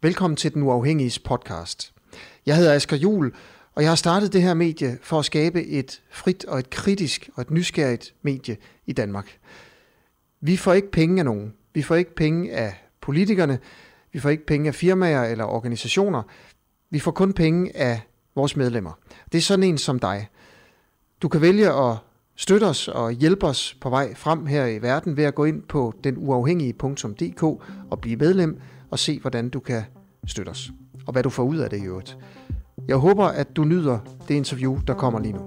Velkommen til Den Uafhængiges podcast. Jeg hedder Asger Juhl, og jeg har startet det her medie for at skabe et frit og et kritisk og et nysgerrigt medie i Danmark. Vi får ikke penge af nogen. Vi får ikke penge af politikerne. Vi får ikke penge af firmaer eller organisationer. Vi får kun penge af vores medlemmer. Det er sådan en som dig. Du kan vælge at støtte os og hjælpe os på vej frem her i verden ved at gå ind på denuafhængige.dk og blive medlem og se, hvordan du kan støtte os, og hvad du får ud af det i øvrigt. Jeg håber, at du nyder det interview, der kommer lige nu.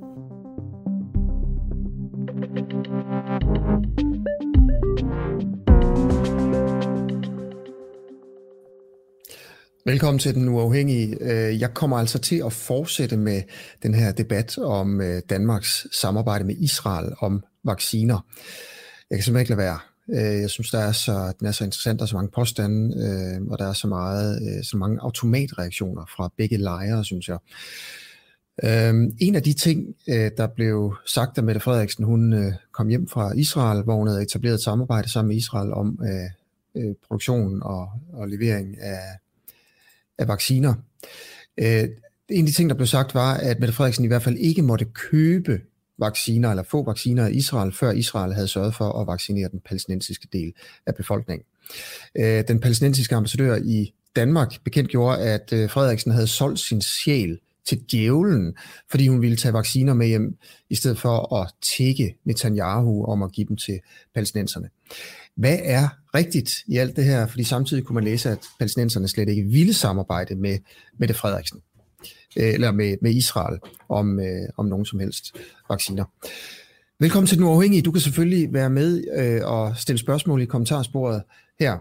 Velkommen til Den Uafhængige. Jeg kommer altså til at fortsætte med den her debat om Danmarks samarbejde med Israel om vacciner. Jeg kan simpelthen ikke lade være. Jeg synes, den er så interessant, der er så mange påstande, og der er så mange automatreaktioner fra begge lejre, synes jeg. En af de ting, der blev sagt af Mette Frederiksen, hun kom hjem fra Israel, hvor hun havde etableret et samarbejde sammen med Israel om produktionen og levering af vacciner. En af de ting, der blev sagt, var, at Mette Frederiksen i hvert fald ikke måtte købe vacciner eller få vacciner af Israel, før Israel havde sørget for at vaccinere den palæstinensiske del af befolkningen. Den palæstinensiske ambassadør i Danmark bekendtgjorde, at Frederiksen havde solgt sin sjæl til djævlen, fordi hun ville tage vacciner med hjem, i stedet for at tikke Netanyahu om at give dem til palæstinenserne. Hvad er rigtigt i alt det her? Fordi samtidig kunne man læse, at palæstinenserne slet ikke ville samarbejde med Mette Frederiksen eller med Israel om nogen som helst vacciner. Velkommen til Den Uafhængige. Du kan selvfølgelig være med og stille spørgsmål i kommentarsporet her.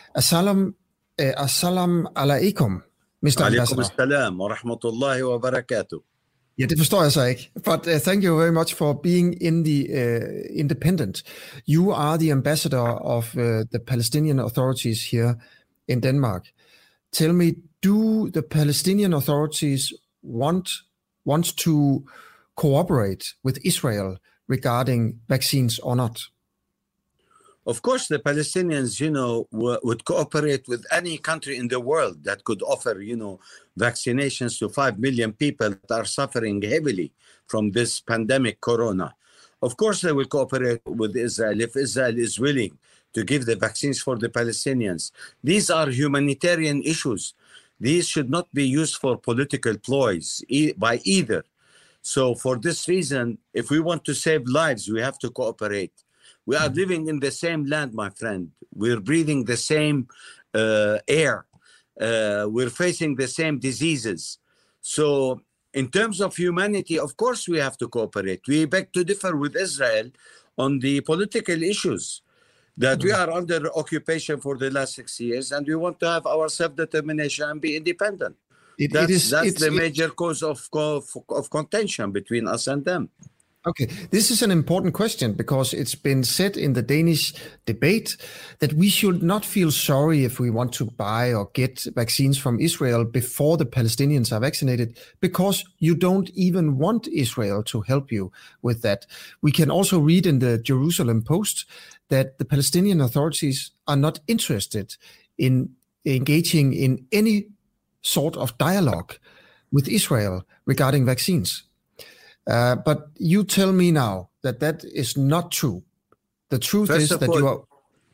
Assalamu alaikum, Mr. Alaikum assalam wa rahmatullahi wa barakatuh. Ja, det forstår jeg så ikke. But thank you very much for being in the independent. You are the ambassador of the Palestinian authorities here in Denmark. Tell me, do the Palestinian authorities want to cooperate with Israel regarding vaccines or not? Of course, the Palestinians, would cooperate with any country in the world that could offer, vaccinations to 5 million people that are suffering heavily from this pandemic, corona. Of course, they will cooperate with Israel if Israel is willing to give the vaccines for the Palestinians. These are humanitarian issues. These should not be used for political ploys by either. So for this reason, if we want to save lives, we have to cooperate. We are living in the same land, my friend. We're breathing the same air. We're facing the same diseases. So in terms of humanity, of course we have to cooperate. We beg to differ with Israel on the political issues that we are under occupation for the last 6 years, and we want to have our self-determination and be independent. That's the major cause of contention between us and them. Okay, this is an important question because it's been said in the Danish debate that we should not feel sorry if we want to buy or get vaccines from Israel before the Palestinians are vaccinated, because you don't even want Israel to help you with that. We can also read in the Jerusalem Post that the Palestinian authorities are not interested in engaging in any sort of dialogue with Israel regarding vaccines. But you tell me now that is not true. The truth is that you are...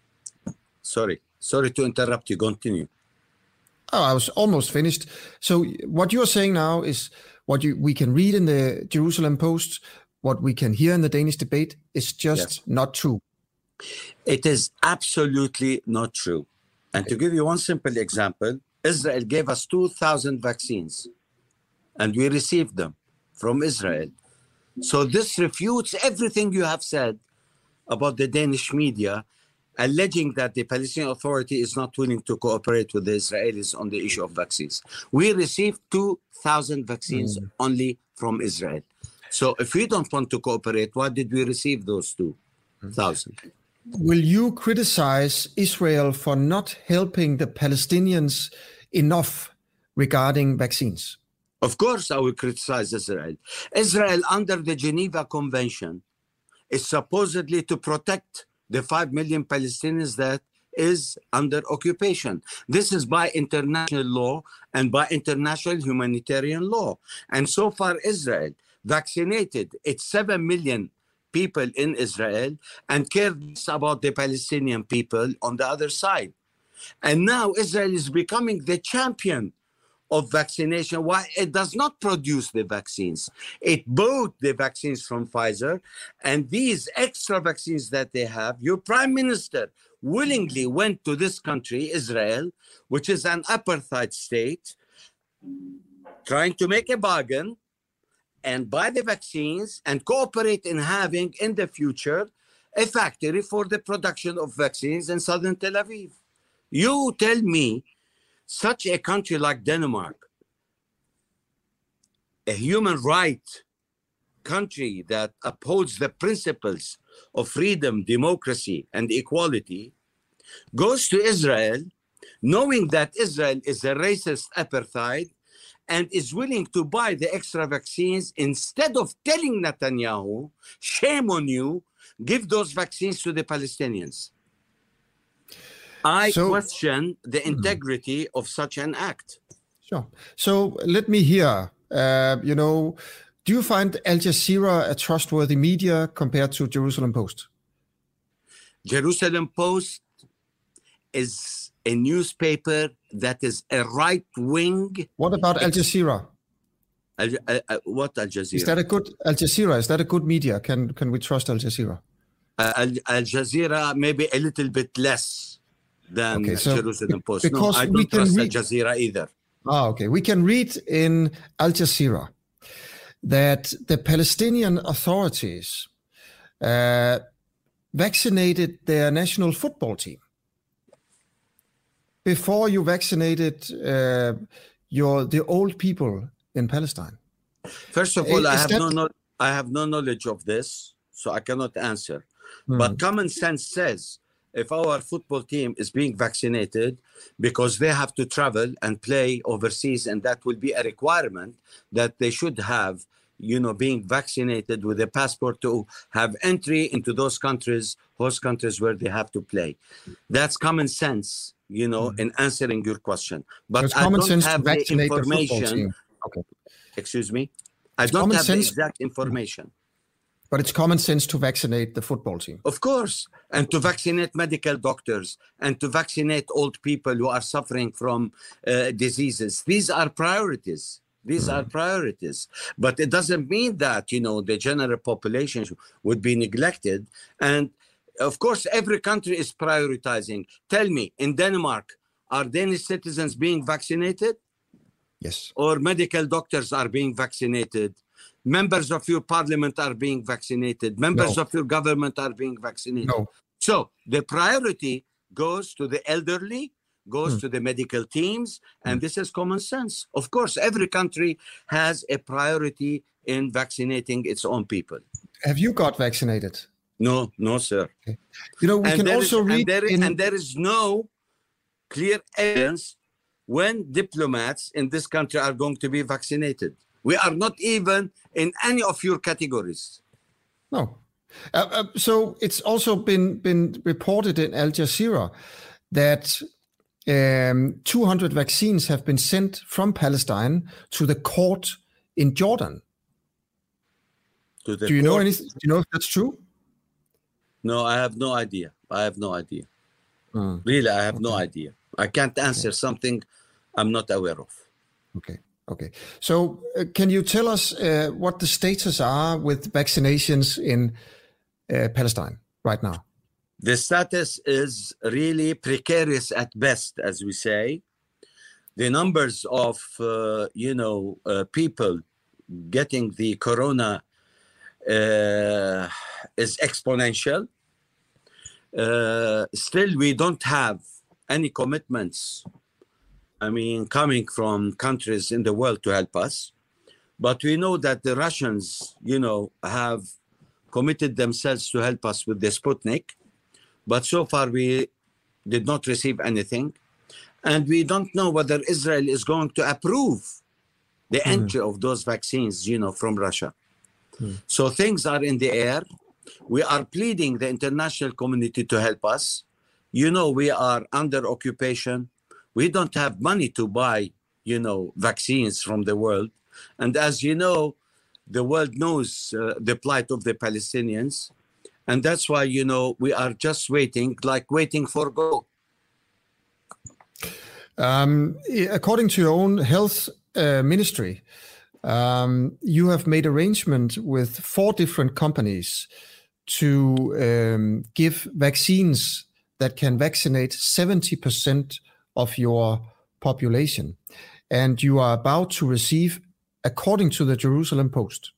Sorry to interrupt you. Continue. Oh, I was almost finished. So what you're saying now is what we can read in the Jerusalem Post, what we can hear in the Danish debate is just not true. It is absolutely not true. And to give you one simple example, Israel gave us 2,000 vaccines, and we received them from Israel. So this refutes everything you have said about the Danish media, alleging that the Palestinian Authority is not willing to cooperate with the Israelis on the issue of vaccines. We received 2,000 vaccines only from Israel. So if we don't want to cooperate, why did we receive those 2,000? Will you criticize Israel for not helping the Palestinians enough regarding vaccines? Of course, I will criticize Israel. Israel, under the Geneva Convention, is supposedly to protect the 5 million Palestinians that is under occupation. This is by international law and by international humanitarian law. And so far, Israel vaccinated its 7 million people in Israel and cared less about the Palestinian people on the other side. And now Israel is becoming the champion of vaccination. Why? It does not produce the vaccines. It bought the vaccines from Pfizer, and these extra vaccines that they have, your prime minister willingly went to this country, Israel, which is an apartheid state, trying to make a bargain and buy the vaccines and cooperate in having in the future a factory for the production of vaccines in southern Tel Aviv. You tell me, such a country like Denmark, a human right country that upholds the principles of freedom, democracy, and equality, goes to Israel knowing that Israel is a racist apartheid and is willing to buy the extra vaccines instead of telling Netanyahu, shame on you, give those vaccines to the Palestinians. I question the integrity of such an act. Sure. So let me hear, do you find Al Jazeera a trustworthy media compared to Jerusalem Post? Jerusalem Post is a newspaper that is a right-wing. What about Al Jazeera? What Al Jazeera? Is that a good Al Jazeera? Is that a good media? Can we trust Al Jazeera? Al Jazeera maybe a little bit less than Jerusalem Post. Because no, I don't trust Al Jazeera either. Okay. We can read in Al Jazeera that the Palestinian authorities vaccinated their national football team before you vaccinated the old people in Palestine. First of all, I have no knowledge of this, so I cannot answer. But common sense says if our football team is being vaccinated because they have to travel and play overseas, and that will be a requirement that they should have, being vaccinated with a passport to have entry into those countries, host countries where they have to play. That's common sense, in answering your question. But I don't have the information. Okay. Excuse me? I don't have the exact information. But it's common sense to vaccinate the football team. Of course. And to vaccinate medical doctors and to vaccinate old people who are suffering from diseases. These are priorities. These are priorities. But it doesn't mean that, the general population would be neglected. And of course, every country is prioritizing. Tell me, in Denmark, are Danish citizens being vaccinated? Yes. Or medical doctors are being vaccinated? Members of your parliament are being vaccinated. Members of your government are being vaccinated. No. So the priority goes to the elderly, goes to the medical teams, and this is common sense. Of course, every country has a priority in vaccinating its own people. Have you got vaccinated? No, sir. Okay. We can also read... And there is no clear evidence when diplomats in this country are going to be vaccinated. We are not even in any of your categories. No. So it's also been reported in Al Jazeera that 200 vaccines have been sent from Palestine to the court in Jordan. Do you know anything? Do you know if that's true? No, I have no idea. Really, I have no idea. I can't answer something I'm not aware of. Okay. So can you tell us what the status are with vaccinations in Palestine right now? The status is really precarious at best, as we say. The numbers of, people getting the corona is exponential. Still, we don't have any commitments, coming from countries in the world to help us. But we know that the Russians, have committed themselves to help us with the Sputnik. But so far, we did not receive anything. And we don't know whether Israel is going to approve the entry of those vaccines, from Russia. So things are in the air. We are pleading the international community to help us. You know, we are under occupation. We don't have money to buy, vaccines from the world. And as you know, the world knows the plight of the Palestinians. And that's why, we are just waiting for go. According to your own health ministry, you have made arrangement with 4 different companies to give vaccines that can vaccinate 70% of your population. And you are about to receive, according to the Jerusalem Post,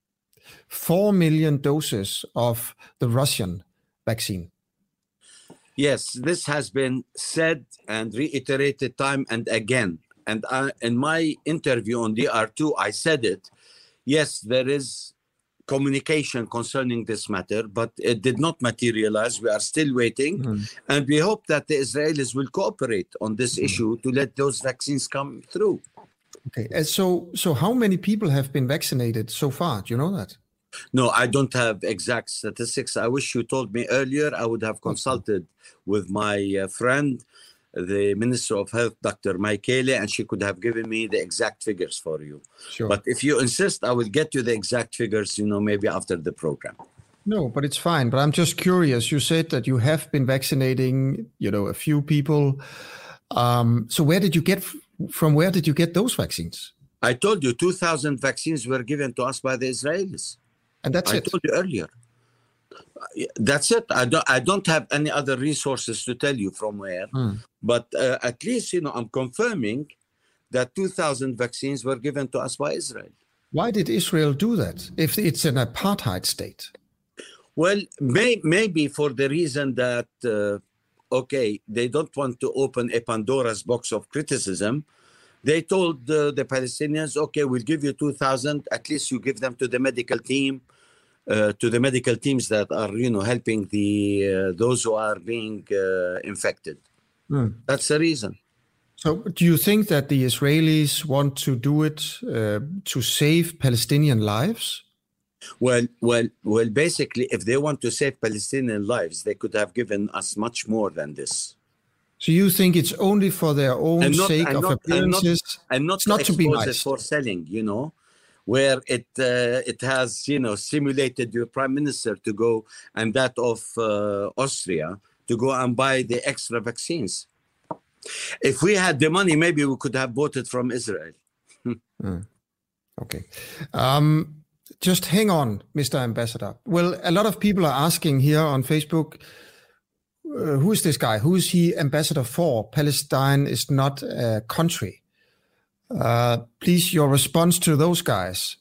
4 million doses of the Russian vaccine. Yes, this has been said and reiterated time and again. And in my interview on DR2, I said it. Yes, there is communication concerning this matter, but it did not materialize. We are still waiting. And we hope that the Israelis will cooperate on this issue to let those vaccines come through. Okay. And so how many people have been vaccinated so far? Do you know that? No, I don't have exact statistics. I wish you told me earlier. I would have consulted with my friend, the Minister of Health, Dr. Michele, and she could have given me the exact figures for you. Sure. But if you insist, I will get you the exact figures, maybe after the program. No, but it's fine. But I'm just curious. You said that you have been vaccinating, a few people. So where did you get those vaccines? I told you 2,000 vaccines were given to us by the Israelis. And that's it. I told you earlier. That's it. I don't have any other resources to tell you from where. But at least, I'm confirming that 2,000 vaccines were given to us by Israel. Why did Israel do that if it's an apartheid state? Well, maybe for the reason that, they don't want to open a Pandora's box of criticism. They told the Palestinians, we'll give you 2,000. At least you give them to the medical team. To the medical teams that are, helping those who are being infected. That's the reason. So do you think that the Israelis want to do it to save Palestinian lives? Well, basically, if they want to save Palestinian lives, they could have given us much more than this. So you think it's only for their own sake of appearances? And not to be nice. For selling, where it has, stimulated your prime minister to go, and that of Austria, to go and buy the extra vaccines. If we had the money, maybe we could have bought it from Israel. Okay. Just hang on, Mr. Ambassador. Well, a lot of people are asking here on Facebook, who is this guy? Who is he ambassador for? Palestine is not a country. Please, your response to those guys.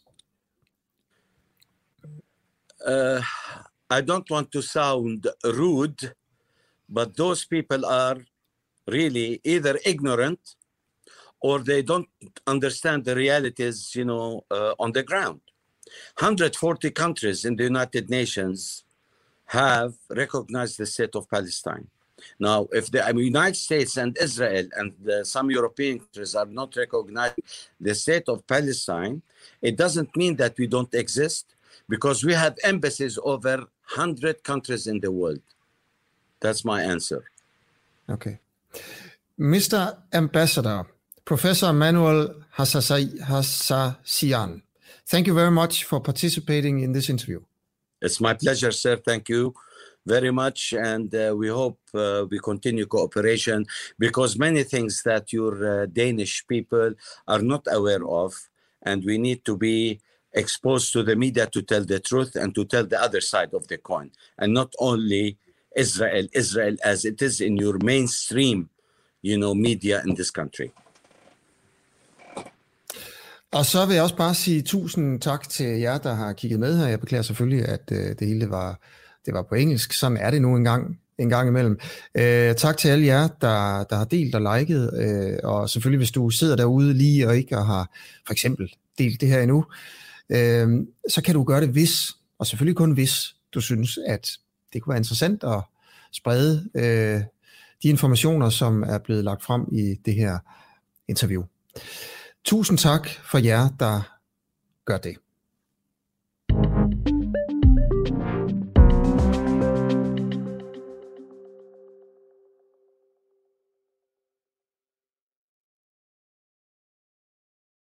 I don't want to sound rude, but those people are really either ignorant or they don't understand the realities, on the ground. 140 countries in the United Nations have recognized the state of Palestine. Now, if the United States and Israel and some European countries are not recognizing the state of Palestine, it doesn't mean that we don't exist, because we have embassies over 100 countries in the world. That's my answer. Okay. Mr. Ambassador, Professor Manuel Hassassian, thank you very much for participating in this interview. It's my pleasure, sir. Thank you very much, and we hope we continue cooperation, because many things that your Danish people are not aware of, and we need to be exposed to the media to tell the truth and to tell the other side of the coin, and not only Israel as it is in your mainstream, media in this country. Og så vil jeg også bare sige tusind tak til jer, der har kigget med her. Jeg beklager selvfølgelig, at det hele var på engelsk. Sådan er det nu en gang imellem. Tak til alle jer, der har delt og liket. Og selvfølgelig, hvis du sidder derude lige og ikke har for eksempel delt det her endnu, så kan du gøre det hvis, og selvfølgelig kun hvis, du synes, at det kunne være interessant at sprede de informationer, som er blevet lagt frem i det her interview. Tusind tak for jer, der gør det.